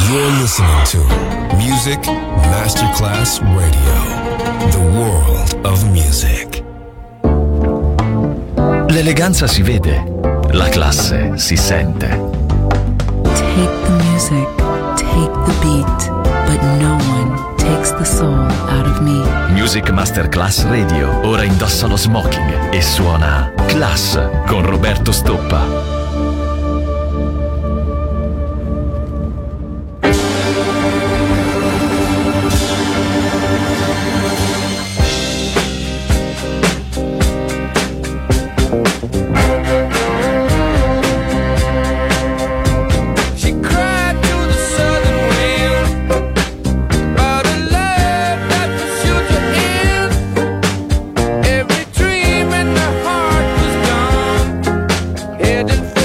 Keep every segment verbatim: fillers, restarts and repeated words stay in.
You're listening to Music Masterclass Radio, the world of music. L'eleganza si vede, la classe si sente. Take the music, take the beat, but no one takes the soul out of me. Music Masterclass Radio, ora indossa lo smoking e suona Class con Roberto Stoppa. Every dream in the heart was gone, headed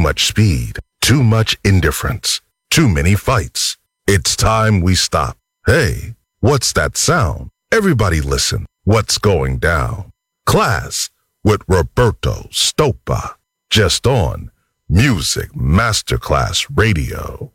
much speed, too much indifference, too many fights. It's time we stop. Hey, what's that sound? Everybody listen. What's going down? Class with Roberto Stoppa. Just on Music Masterclass Radio.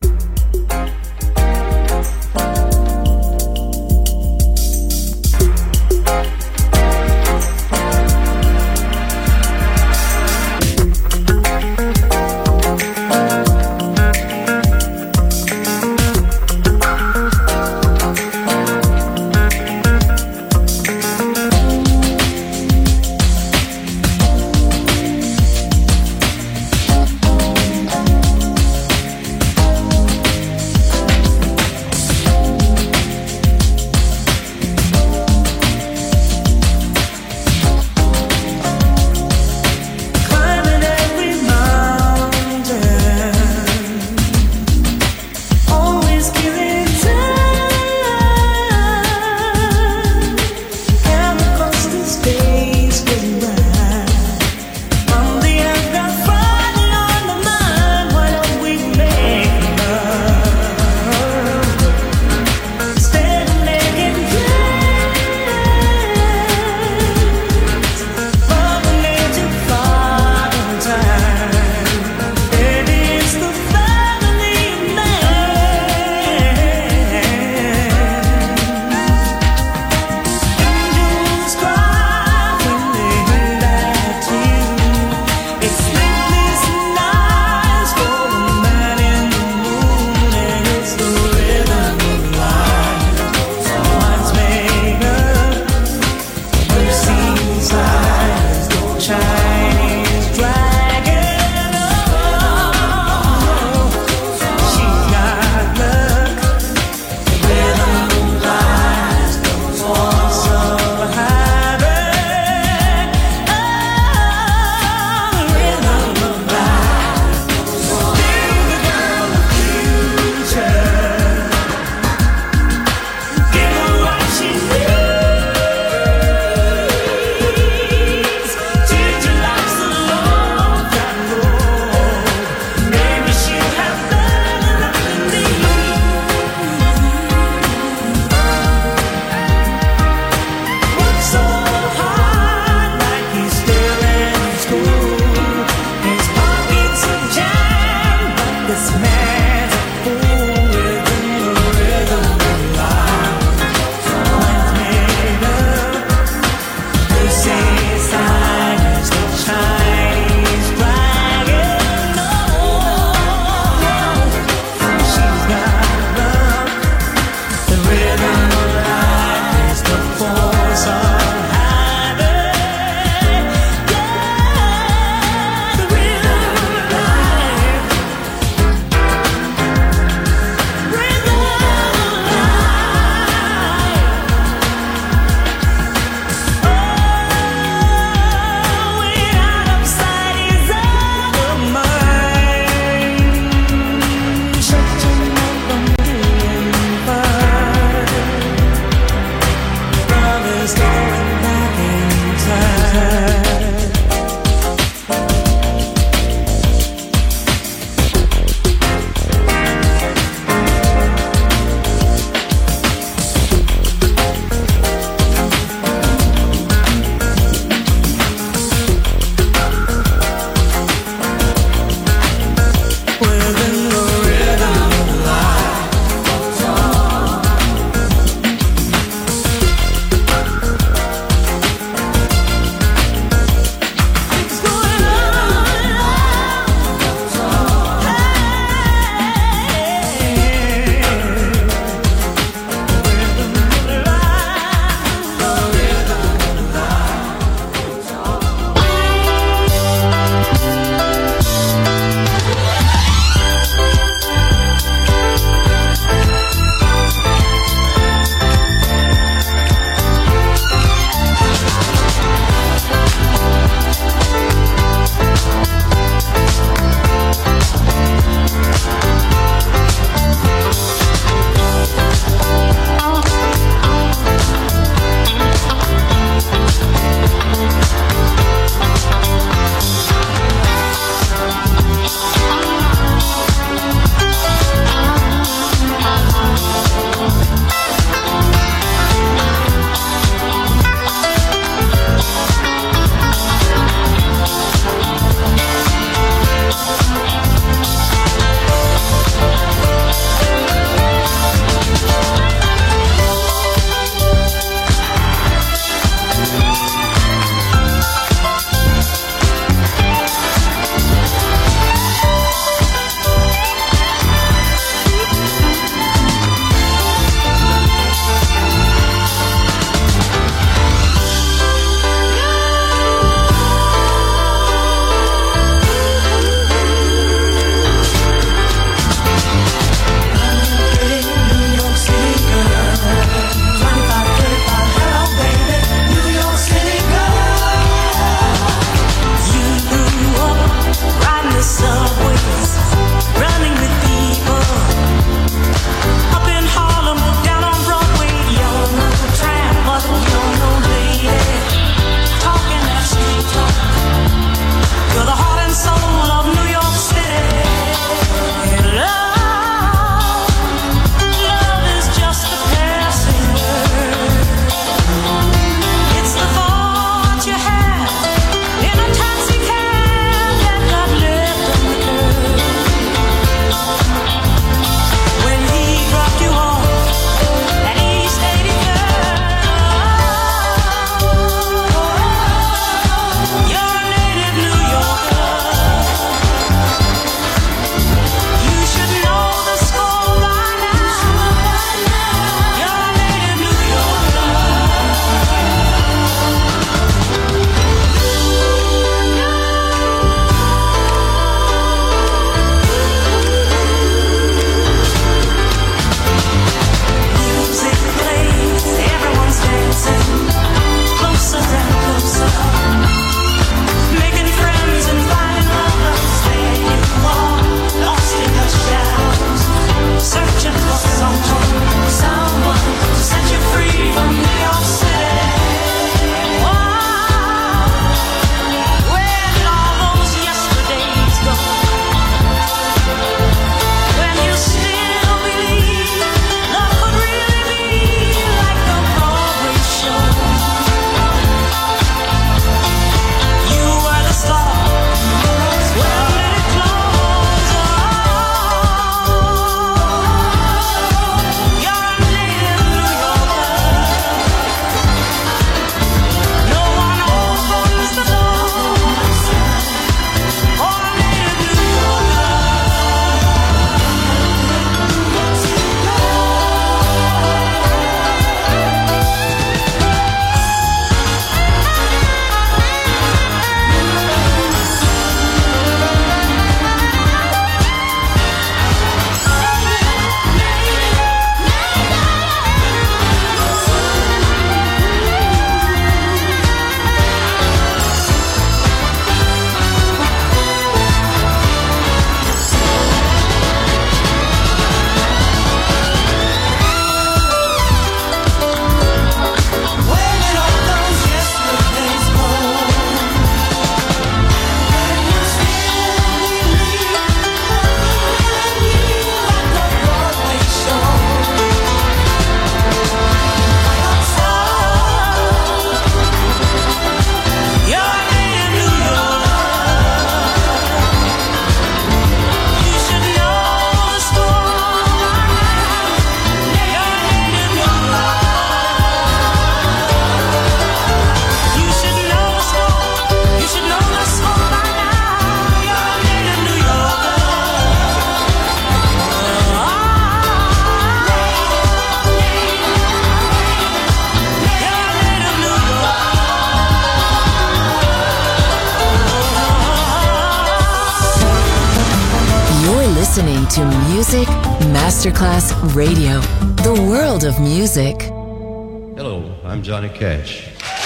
listening to Music Masterclass Radio, the world of music. Hello, I'm Johnny Cash.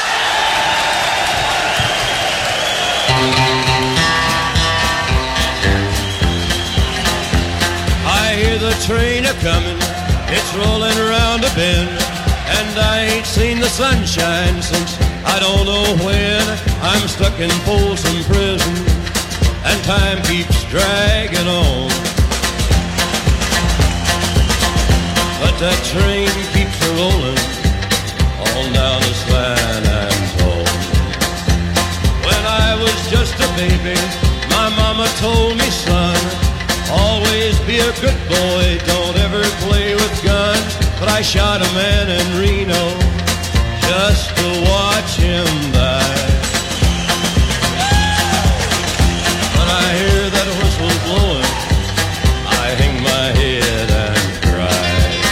I hear the train a-comin', it's rolling around a bend, and I ain't seen the sunshine since I don't know when. I'm stuck in Folsom Prison, and time keeps dragging on. But that train keeps a-rollin' on down to San Antone. When I was just a baby, my mama told me, son, always be a good boy, don't ever play with guns. But I shot a man in Reno just to watch him die. When I hear that whistle blowing, I hang my head and cry.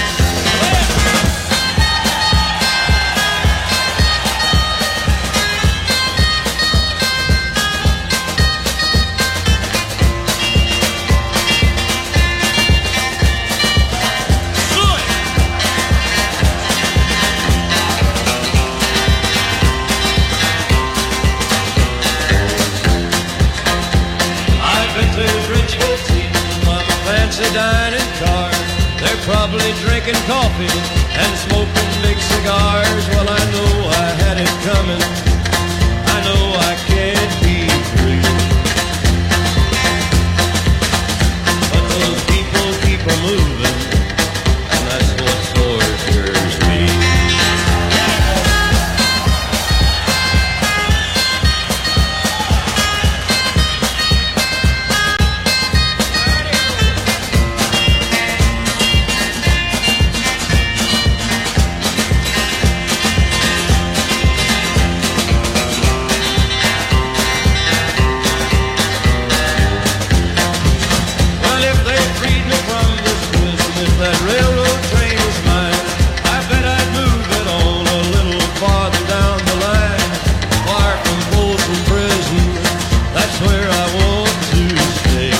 Dining car, they're probably drinking coffee and smoking big cigars. Well, I know I had it coming, I know I can't be free, but those people keep a moving, and that's what tortures me. That railroad train was mine, I bet I'd move it on a little farther down the line. Far from Folsom Prison, that's where I want to stay.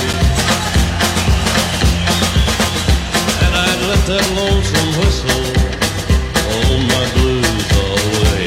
And I'd let that lonesome whistle hold my blues away.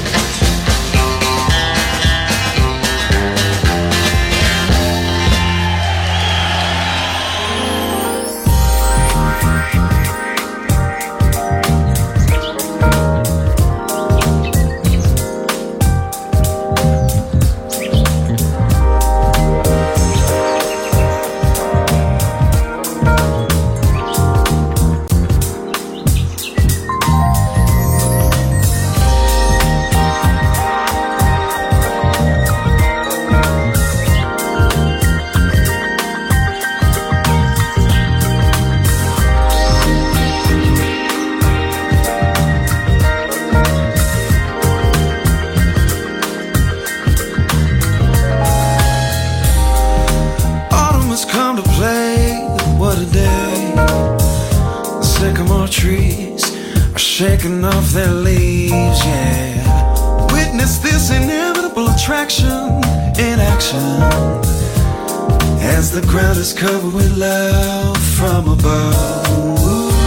Shaking off their leaves, yeah. Witness this inevitable attraction in action as the ground is covered with love from above.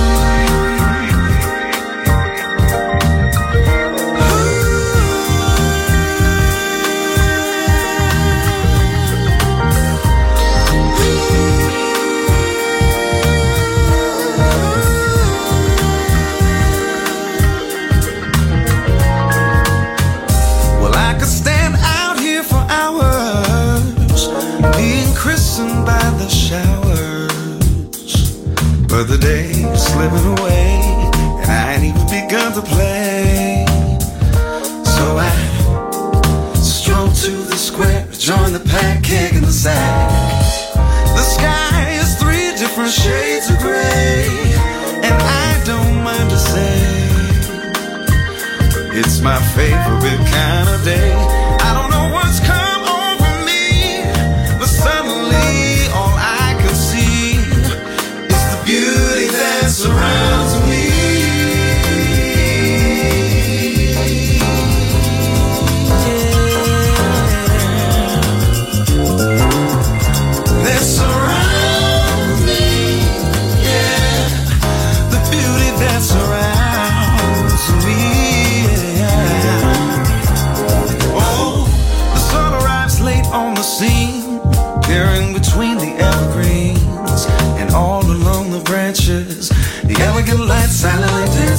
But the day's slipping away, and I ain't even begun to play. So I stroll to the square, join the pack, kicking the sack. The sky is three different shades of gray, and I don't mind to say it's my favorite kind of day. I don't know what's come over me, but suddenly all I can see is the beauty that surrounds me. Yeah. That surrounds me.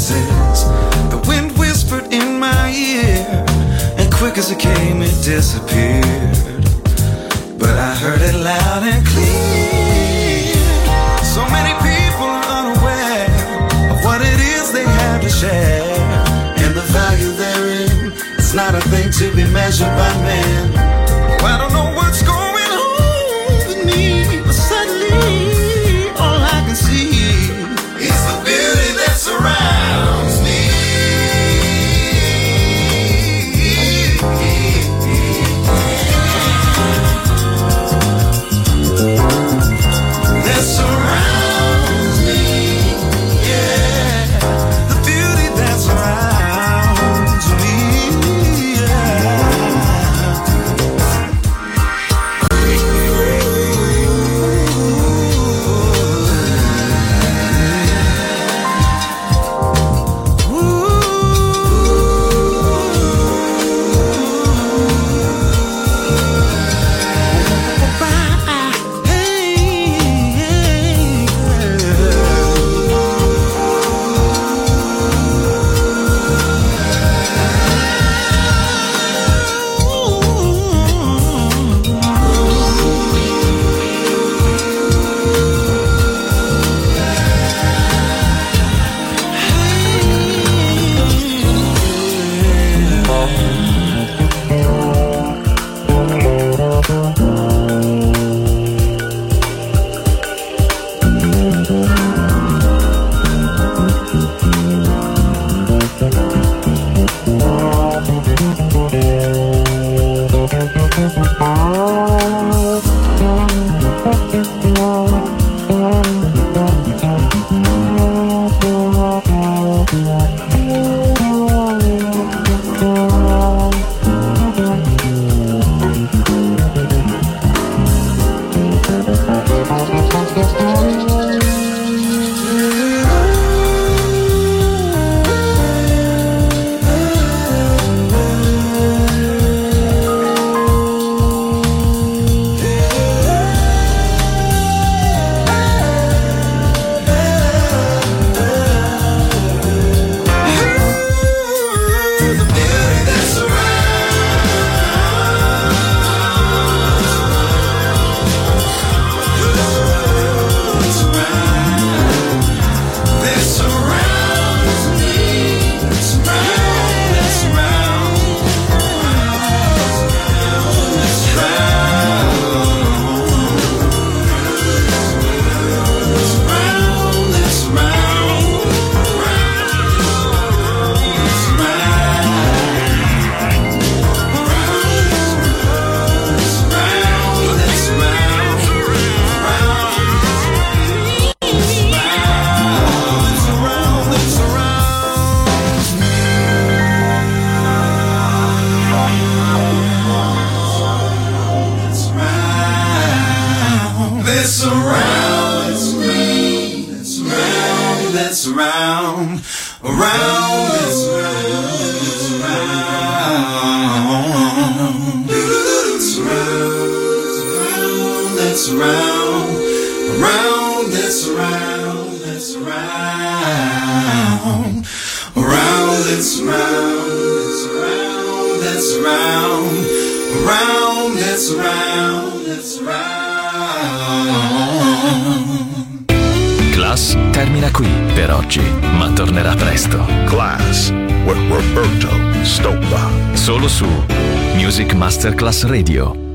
roses. The wind whispered in my ear, and quick as it came, it disappeared. But I heard it loud and clear. So many people are unaware of what it is they have to share, and the value therein is not a thing to be measured by man. Oh, I don't know what's going on with me, but suddenly all I can see is the beauty that surrounds me. That surrounds me, yeah. The beauty that surrounds me, Class termina qui per oggi, ma tornerà presto. Class with Roberto Stoppa. Solo su Music Masterclass Radio.